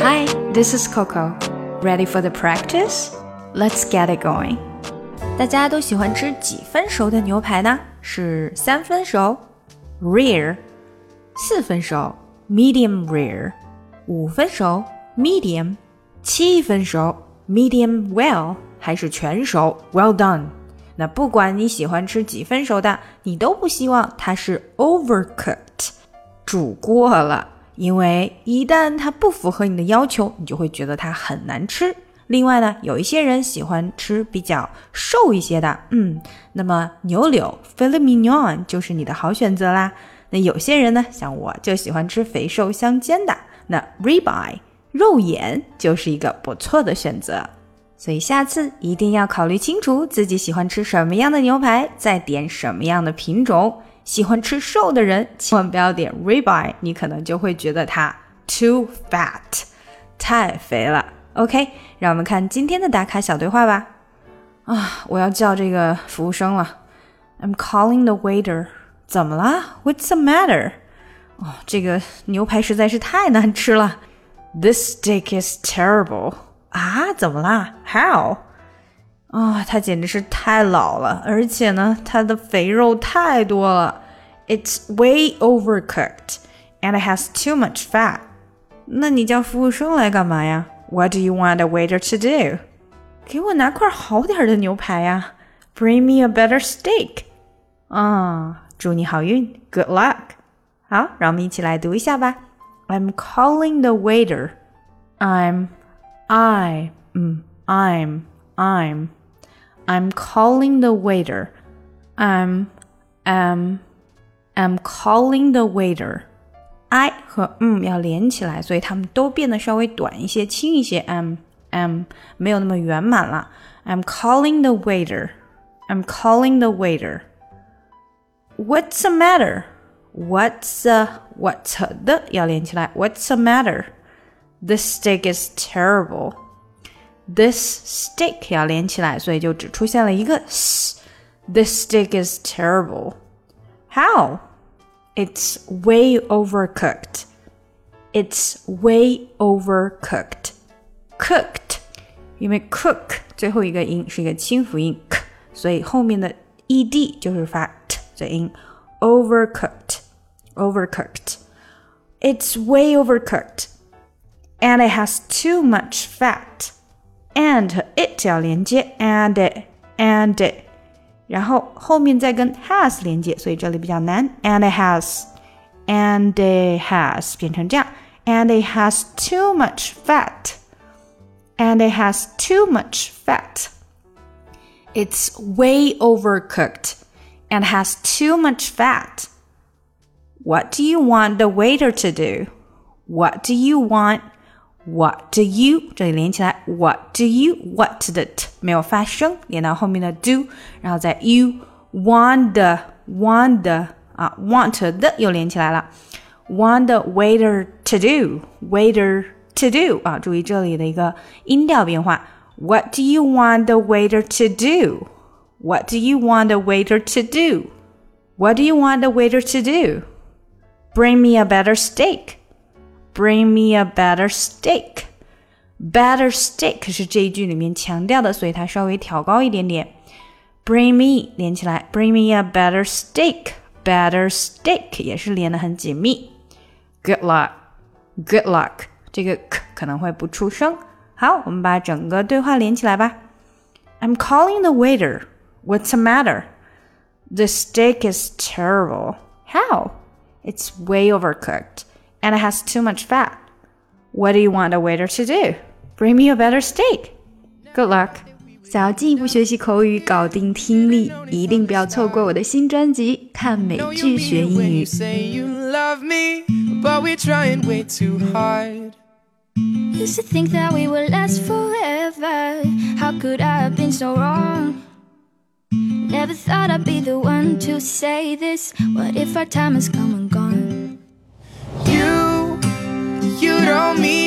Hi, this is Coco. Ready for the practice? Let's get it going. 大家都喜欢吃几分熟的牛排呢？是3分熟 rare 4分熟 medium rare 5分熟 medium 7分熟 medium well 还是全熟 well done。 那不管你喜欢吃几分熟的，你都不希望它是 overcooked 煮过了，因为一旦它不符合你的要求，你就会觉得它很难吃。另外呢，有一些人喜欢吃比较瘦一些的，那么牛柳 filet mignon 就是你的好选择啦。那有些人呢，像我就喜欢吃肥瘦相间的，那 ribeye 肉眼就是一个不错的选择。所以下次一定要考虑清楚自己喜欢吃什么样的牛排，再点什么样的品种。喜欢吃瘦的人千万不要点 ribeye， 你可能就会觉得它 too fat 太肥了。 OK， 让我们看今天的打卡小对话吧。我要叫这个服务生了。 I'm calling the waiter。 怎么了？ What's the matter？ 这个牛排实在是太难吃了。 This steak is terrible。 怎么啦？ How？ 它简直是太老了，而且呢，它的肥肉太多了。 It's way overcooked and it has too much fat。 那你叫服务生来干嘛呀？ What do you want a waiter to do？ 给我拿块好点的牛排呀。 Bring me a better steak。 祝你好运 Good luck。 好，让我们一起来读一下吧。 I'm calling the waiter。 I'm calling the waiter. I'm calling the waiter. I 和要连起来，所以它们都变得稍微短一些，轻一些。没有那么圆满了。I'm calling the waiter. I'm calling the waiter. What's the matter? What's the 要连起来。What's the matter? This steak is terrible. This steak 要连起来，所以就只出现了一个 s。 This steak is terrible. How? It's way overcooked. It's way overcooked. Cooked 因为 cook 最后一个音是一个清辅音 k， 所以后面的 ed 就是发 t 的音。 Overcooked. Overcooked. It's way overcooked. And it has too much fat. And 和 it 要连接 and it 然后后面再跟 has 连接，所以这里比较难。 and it has 变成这样。 and it has too much fat. And it has too much fat. It's way overcooked and has too much fat. What do you want the waiter to do? What do you want?What do you 这里连起来 What do you What 的 t 没有发声，连到后面的 do， 然后在 you want the want the 又连起来了。 Want the waiter to do Waiter to do 注意这里的一个音调变化。 What do you want the waiter to do? What do you want the waiter to do? What do you want the waiter to do? Bring me a better steak.Bring me a better steak. Better steak 是这一句里面强调的，所以它稍微调高一点点。Bring me 连起来 Bring me a better steak. Better steak 也是连得很紧密。Good luck. Good luck 这个 k 可能会不出声。好，我们把整个对话连起来吧。 I'm calling the waiter. What's the matter? The steak is terrible. How? It's way overcooked.And it has too much fat. What do you want a waiter to do? Bring me a better steak. Good luck. 想要进一步学习口语，搞定听力，一定不要错过我的新专辑《看美剧学英语》。 Used to think that we would last forever. How could I have been so wrong? Never thought I'd be the one to say this. What if our time has come and gone?You don't mean